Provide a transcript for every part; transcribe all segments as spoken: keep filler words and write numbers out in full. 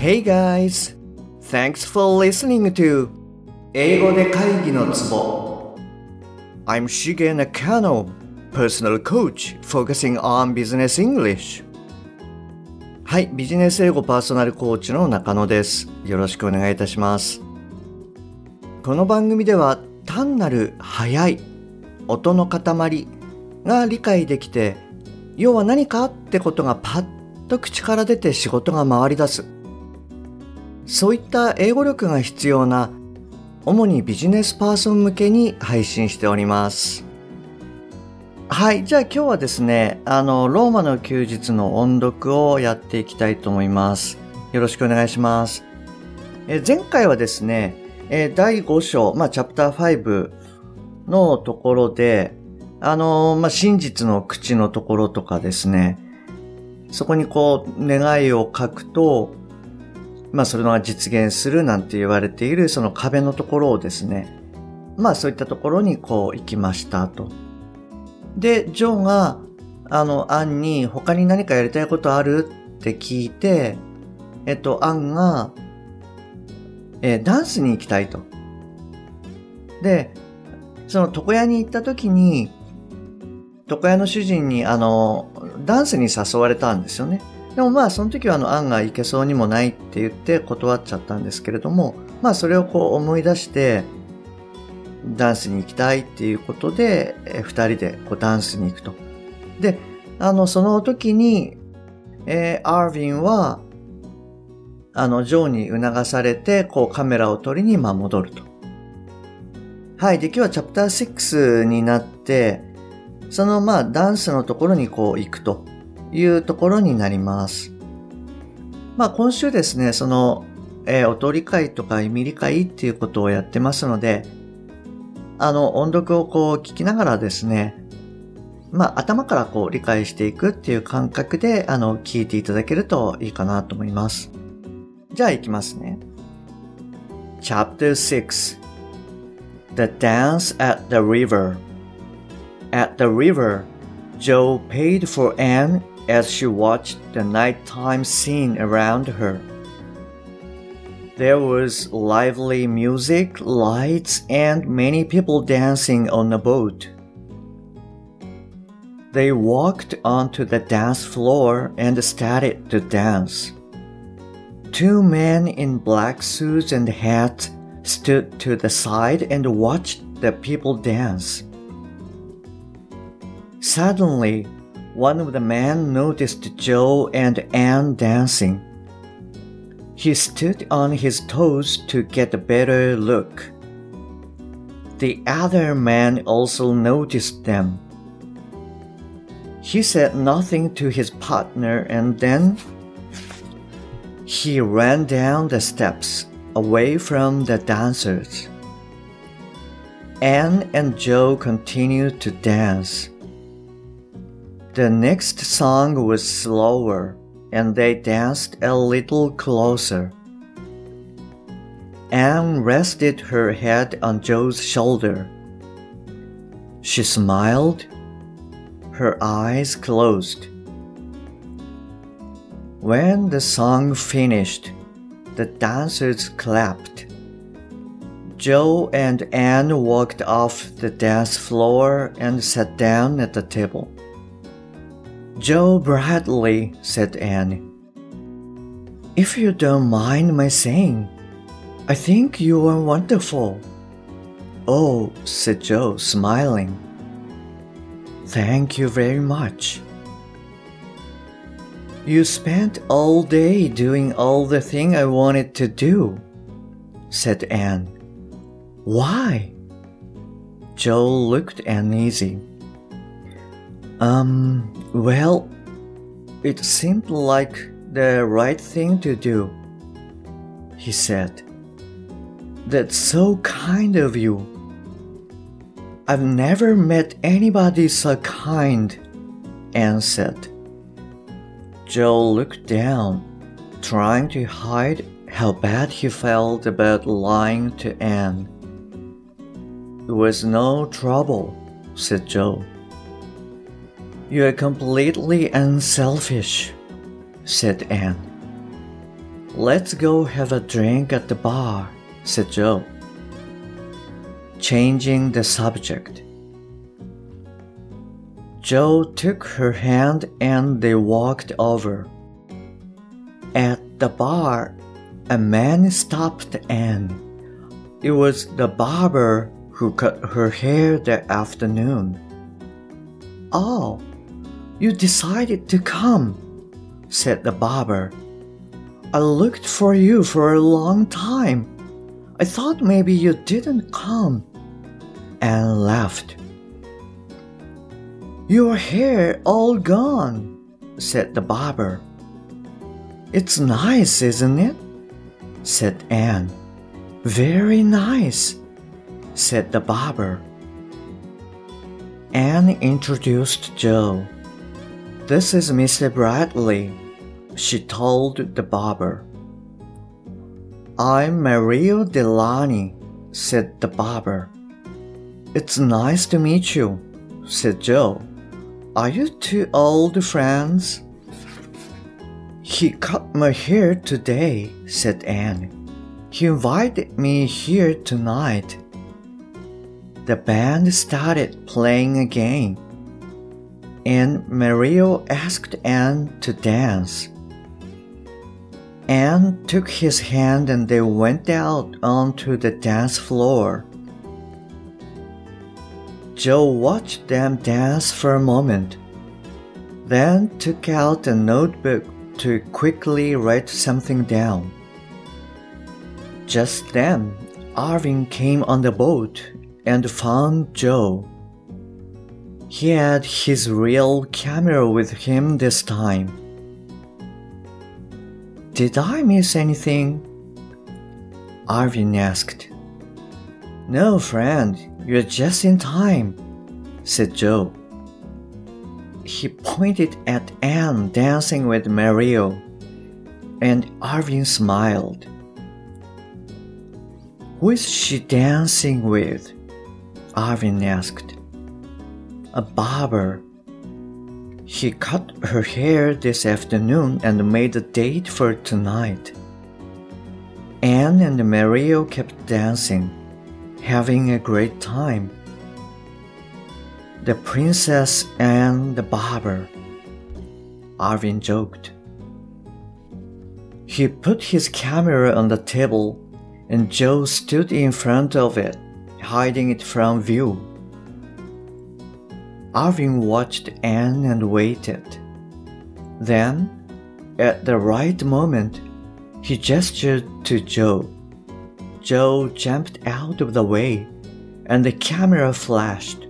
Hey guys! Thanks for listening to 英語で会議のツボ I'm Shige Nakano, personal coach focusing on business English. はい、ビジネス英語パーソナルコーチの中野です。よろしくお願いいたします。この番組では単なる速い音の塊が理解できて、要は何かってことがパッと口から出て仕事が回り出す。そういった英語力が必要な主にビジネスパーソン向けに配信しております。はい、じゃあ今日はですね、あのローマの休日の音読をやっていきたいと思います。よろしくお願いします。え前回はですね、えだいご章、まあチャプターごのところで、あのまあ真実の口のところとかですね、そこにこう願いを書くと。まあそれが実現するなんて言われているその壁のところをですね、まあそういったところにこう行きましたと。で、ジョーがあのアンに他に何かやりたいことあるって聞いて、えっとアンが、えー、ダンスに行きたいと。で、その床屋に行った時に床屋の主人にあのダンスに誘われたんですよね。でもまあその時はあのアンが行けそうにもないって言って断っちゃったんですけれども、まあそれをこう思い出してダンスに行きたいっていうことでえ二人でこうダンスに行くと。で、あのその時に、えー、アーヴィンはあのジョーに促されてこうカメラを撮りにまあ戻ると。はい、で今日はチャプターろくになってそのまあダンスのところにこう行くと。いうところになります。まあ今週ですね、その、えー、音理解とか意味理解っていうことをやってますので、あの音読をこう聞きながらですね、まあ頭からこう理解していくっていう感覚であの聞いていただけるといいかなと思います。じゃあ行きますね。チャプターろく The Dance at the River At the river, Joe paid for Anne,as she watched the nighttime scene around her. There was lively music, lights, and many people dancing on a boat. They walked onto the dance floor and started to dance. Two men in black suits and hats stood to the side and watched the people dance. Suddenly,One of the men noticed Joe and Anne dancing. He stood on his toes to get a better look. The other man also noticed them. He said nothing to his partner and then he ran down the steps away from the dancers. Anne and Joe continued to dance.The next song was slower, and they danced a little closer. Anne rested her head on Joe's shoulder. She smiled. Her eyes closed. When the song finished, the dancers clapped. Joe and Anne walked off the dance floor and sat down at the table.Joe Bradley, said Anne, if you don't mind my saying, I think you are wonderful. Oh, said Joe, smiling. Thank you very much. You spent all day doing all the thing I wanted to do, said Anne. Why? Joe looked uneasy.Um, well, it seemed like the right thing to do, he said. That's so kind of you. I've never met anybody so kind, Anne said. Joe looked down, trying to hide how bad he felt about lying to Anne. It was no trouble, said Joe.You are completely unselfish, said Anne. Let's go have a drink at the bar, said Joe, changing the subject. Joe took her hand and they walked over. At the bar, a man stopped Anne. It was the barber who cut her hair that afternoon. Oh, you decided to come, said the barber. I looked for you for a long time. I thought maybe you didn't come. Anne laughed. Your hair all gone, said the barber. It's nice, isn't it? Said Anne. Very nice, said the barber. Anne introduced Joe. This is Mister Bradley, she told the barber. I'm Mario Delani, said the barber. It's nice to meet you, said Joe. Are you two old friends? He cut my hair today, said Anne. He invited me here tonight. The band started playing again, and Mario asked Anne to dance. Anne took his hand and they went out onto the dance floor. Joe watched them dance for a moment, then took out a notebook to quickly write something down. Just then, Arvin came on the boat and found Joe. He had his real camera with him this time. Did I miss anything? Arvin asked. No, friend, you're just in time, said Joe. He pointed at Anne dancing with Mario, and Arvin smiled. Who is she dancing with? Arvin asked. A barber. He cut her hair this afternoon and made a date for tonight. Anne and Mario kept dancing, having a great time. The princess and the barber, Arvin joked. He put his camera on the table and Joe stood in front of it, hiding it from view. Arvin watched Anne and waited. Then, at the right moment, he gestured to Joe. Joe jumped out of the way, and the camera flashed.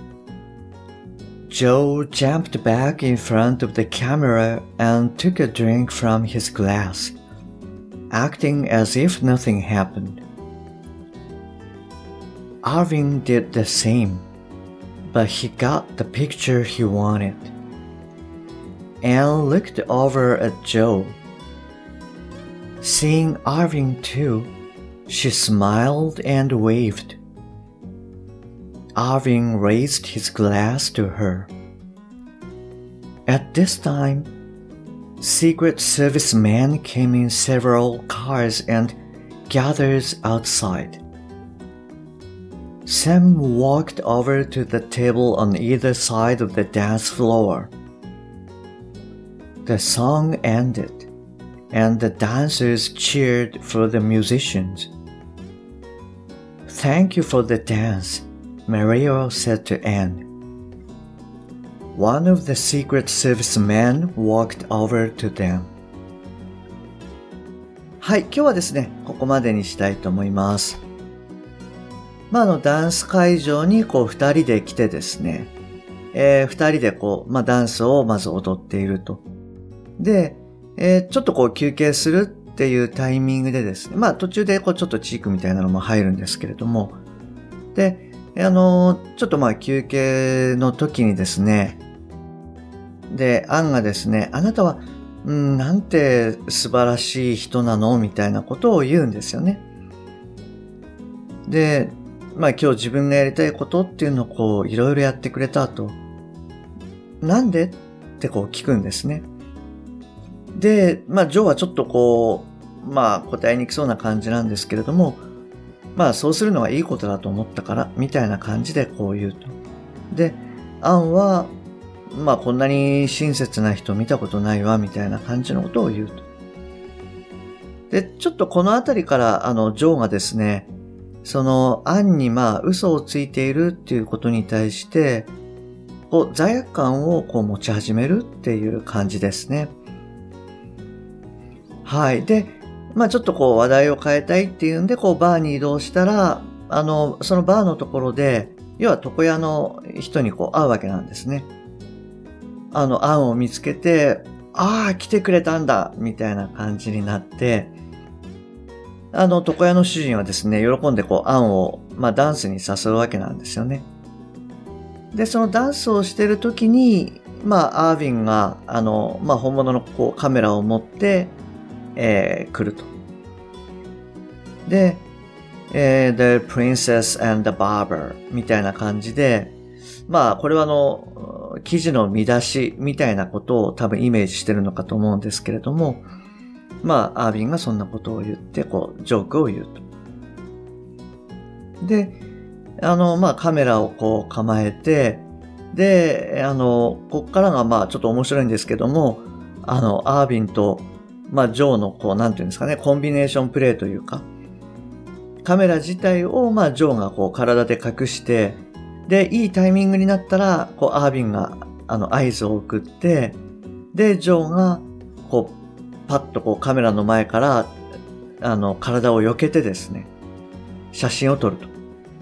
Joe jumped back in front of the camera and took a drink from his glass, acting as if nothing happened. Arvin did the same, but he got the picture he wanted. Anne looked over at Joe. Seeing Arvin too, she smiled and waved. Arvin raised his glass to her. At this time, Secret Service men came in several cars and gathered outside. Sam walked over to the table on either side of the dance floor. The song ended, and the dancers cheered for the musicians. Thank you for the dance, Mario said to Anne. One of the Secret Service men walked over to them. はい、今日はですね、ここまでにしたいと思います。まあ、あの、ダンス会場にこう二人で来てですね、えー、二人でこう、まあ、ダンスをまず踊っていると。で、えー、ちょっとこう休憩するっていうタイミングでですね、まあ、途中でこうちょっとチークみたいなのも入るんですけれども、で、あのー、ちょっとまあ休憩の時にですね、で、アンがですね、あなたは、うん、なんて素晴らしい人なのみたいなことを言うんですよね。で、まあ今日自分がやりたいことっていうのをこういろいろやってくれたと。なんでってこう聞くんですね。で、まあジョーはちょっとこまあ答えにくそうな感じなんですけれども、まあそうするのがいいことだと思ったからみたいな感じでこう言うと。で、アンはまあこんなに親切な人見たことないわみたいな感じのことを言うと。で、ちょっとこのあたりからあのジョーがですね、そのアンにまあ嘘をついているっていうことに対してこう罪悪感をこう持ち始めるっていう感じですね。はい。で、まあちょっとこう話題を変えたいっていうんでこうバーに移動したら、あのそのバーのところで要は床屋の人にこう会うわけなんですね。あのアンを見つけて、ああ来てくれたんだみたいな感じになって、あの床屋の主人はですね喜んでこうアンをまあダンスに誘うわけなんですよね。でそのダンスをしている時にまあアーヴィンがあのまあ本物のこうカメラを持ってえー、来ると。で、えー、The Princess and the Barber みたいな感じで、まあこれはあの記事の見出しみたいなことを多分イメージしてるのかと思うんですけれども、まあアーヴィンがそんなことを言ってこうジョークを言うと。で、あのまあカメラをこう構えて、で、あのこっからがまあちょっと面白いんですけども、あのアーヴィンとまあ、ジョーのこう、なんていうんですかね、コンビネーションプレイというか、カメラ自体をまあ、ジョーがこう、体で隠して、で、いいタイミングになったら、こう、アーヴィンが、あの、合図を送って、で、ジョーが、こう、パッとこう、カメラの前から、あの、体を避けてですね、写真を撮ると。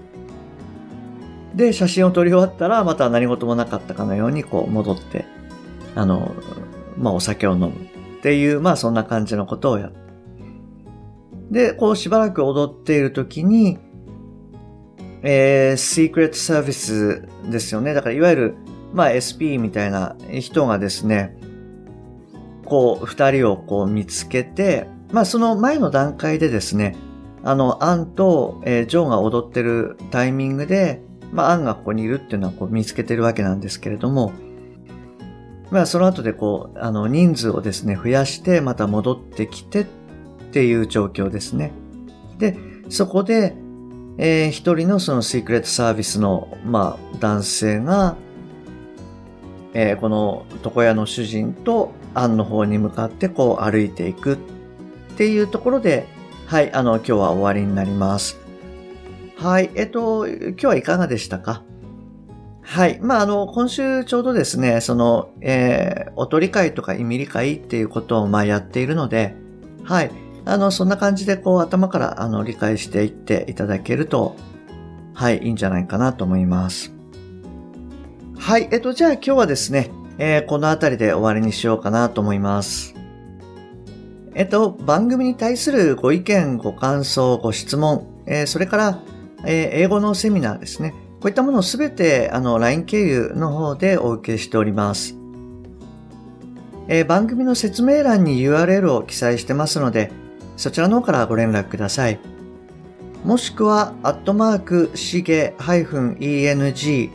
で、写真を撮り終わったら、また何事もなかったかのように、こう、戻って、あの、まあ、お酒を飲む。っていう、まあそんな感じのことをやる。で、こうしばらく踊っているときに、えー、シークレットサービスですよね。だからいわゆる、まあ エスピー みたいな人がですね、こう二人をこう見つけて、まあその前の段階でですね、あの、アンと、えー、ジョーが踊ってるタイミングで、まあアンがここにいるっていうのはこう見つけてるわけなんですけれども、まあその後でこう、あの人数をですね、増やしてまた戻ってきてっていう状況ですね。で、そこで、えー、一人のそのシークレットサービスの、まあ男性が、えー、この床屋の主人とアンの方に向かってこう歩いていくっていうところで、はい、あの今日は終わりになります。はい、えっと、今日はいかがでしたか？はい。まあ、あの、今週ちょうどですね、その、えー、おとり会とか意味理解っていうことを、まあ、やっているので、はい。あの、そんな感じで、こう、頭から、あの、理解していっていただけると、はい、いいんじゃないかなと思います。はい。えっと、じゃあ今日はですね、えー、このあたりで終わりにしようかなと思います。えっと、番組に対するご意見、ご感想、ご質問、えー、それから、えー、英語のセミナーですね。こういったものをすべてあの ライン 経由の方でお受けしております。えー、番組の説明欄に ユーアールエル を記載してますので、そちらの方からご連絡ください。もしくは、アットマーク、しげ -エヌジー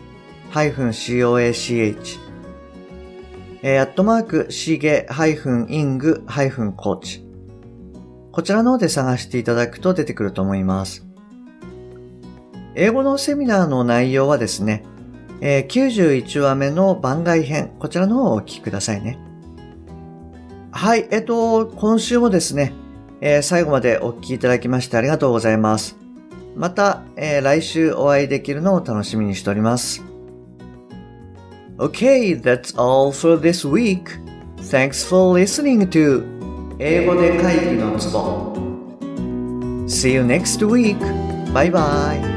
-coach、えー、アットマーク、しげ -イング -coach。こちらの方で探していただくと出てくると思います。英語のセミナーの内容はですね、えー、きゅうじゅういちわめの番外編、こちらの方をお聞きくださいね。はい、えっと、今週もですね、えー、最後までお聞きいただきましてありがとうございます。また、えー、来週お会いできるのを楽しみにしております。Okay, that's all for this week. Thanks for listening to 英語で会議のツボ. See you next week. Bye bye.